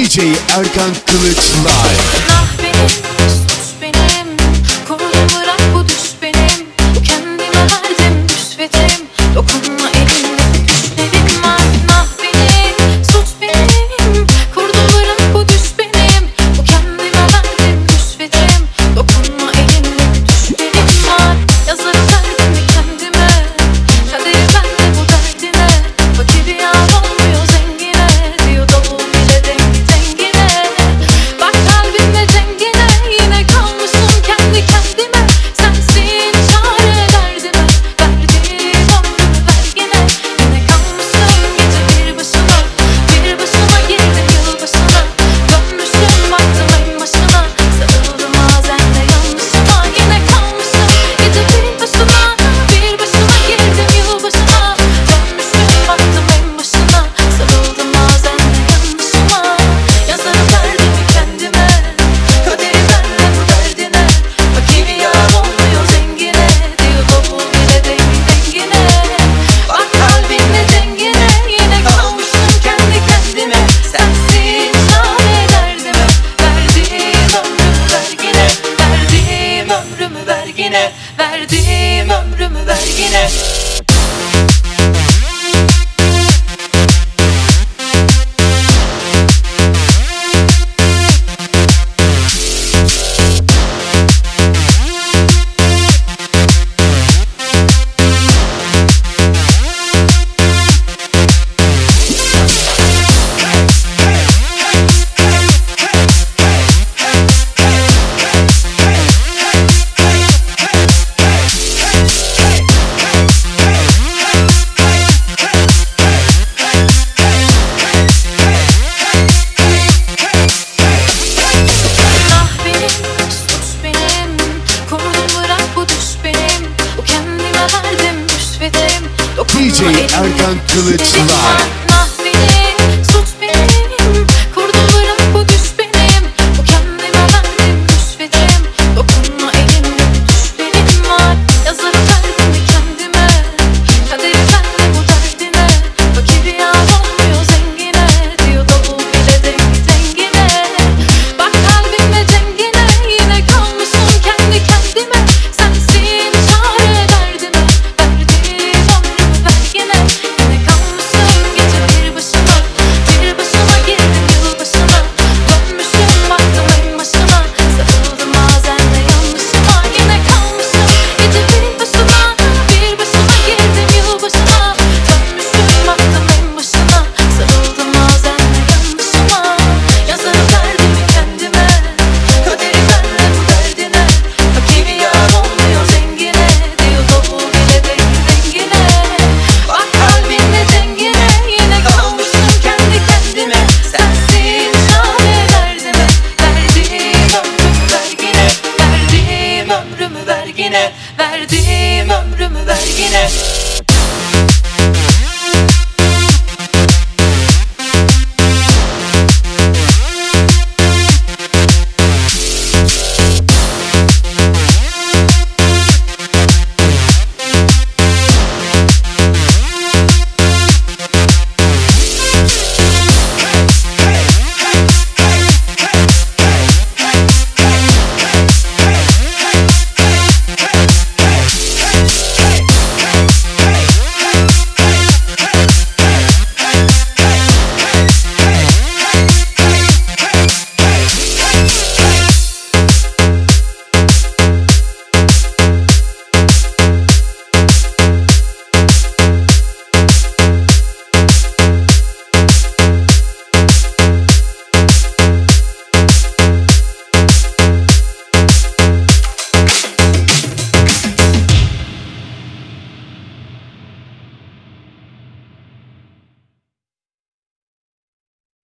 DJ Erkan Kılıç Live. Günah benim, suç benim. Kurdum bırak bu düş benim. Kendime verdim rüşvetim. Dokunma elimde düşlerim var. Günah benim, suç benim. Kurdum bırak bu düş benim. Bu kendime verdim rüşvetim. Dokunma elimde düşlerim var. Yazarım derdimi kendime. Kaderi bende bu derdine. Fakir yar olmuyor zengine. Diyor davul bile dengi dengine. Bak kalbimde cengine. Yine kalmışım kendi kendime. Sensin çare derdime. Verdiğim ömrümü vergine. Yine kalmışım gece bir başıma. Bir başıma girdim yılbaşına. Dönmüşüm baktım en başına. Sarıldım bazen de yanlışıma. Yine kalmışım gece bir başıma. Bir başıma girdim yılbaşına. Dönmüşüm baktım en başına. Sarıldım bazen de yanlışıma. Yazarım derdimi kendime. Kaderi bende bu derdine. Fakir yar olmuyor zengine. Diyor davul bile dengi dengine. Bak kalbimde cengine. Yine kalmışım kendi kendime. Sensin çare derdime. Verdiğim ömrümü vergine. Verdiğim ömrümü vergine. Verdiğim ömrümü vergine. Günah benim, suç benim. Kurdum bırak bu düş benim. Bu kendime verdim rüşvetim. Dokunma DJ elimde Erkan Kılıç düşlerim Live. var. Günah benim, suç benim. Kurdum bırak bu düş benim. Bu kendime verdim rüşvetim. Dokunma elimde düşlerim var. Yazarım derdimi kendime. Kaderi bende bu derdine. Fakir yar olmuyor zengine. Diyor davul bile dengi dengine. Bak kalbimde cengine. Yine kalmışım kendi kendime. Sensin çare derdime. Verdiğim ömrümü vergine. Yine kalmışım gece bir başıma. Bir başıma girdim yılbaşına. Dönmüşüm baktım en başına. Sarıldım bazen de yanlışıma. Yine kalmışım gece bir başıma. Bir başıma girdim yılbaşına. Dönmüşüm baktım en başına. Sarıldım bazen de yanlışıma. Yazarım derdimi kendime. Kaderi bende bu derdine. Fakir yar olmuyor zengine. Diyor davul bile dengi dengine. Bak kalbimde cengine. Yine kalmışım kendi kendime. Sensin çare derdime. Verdiğim ömrümü vergine. Verdiğim ömrümü vergine. Verdiğim ömrümü vergine.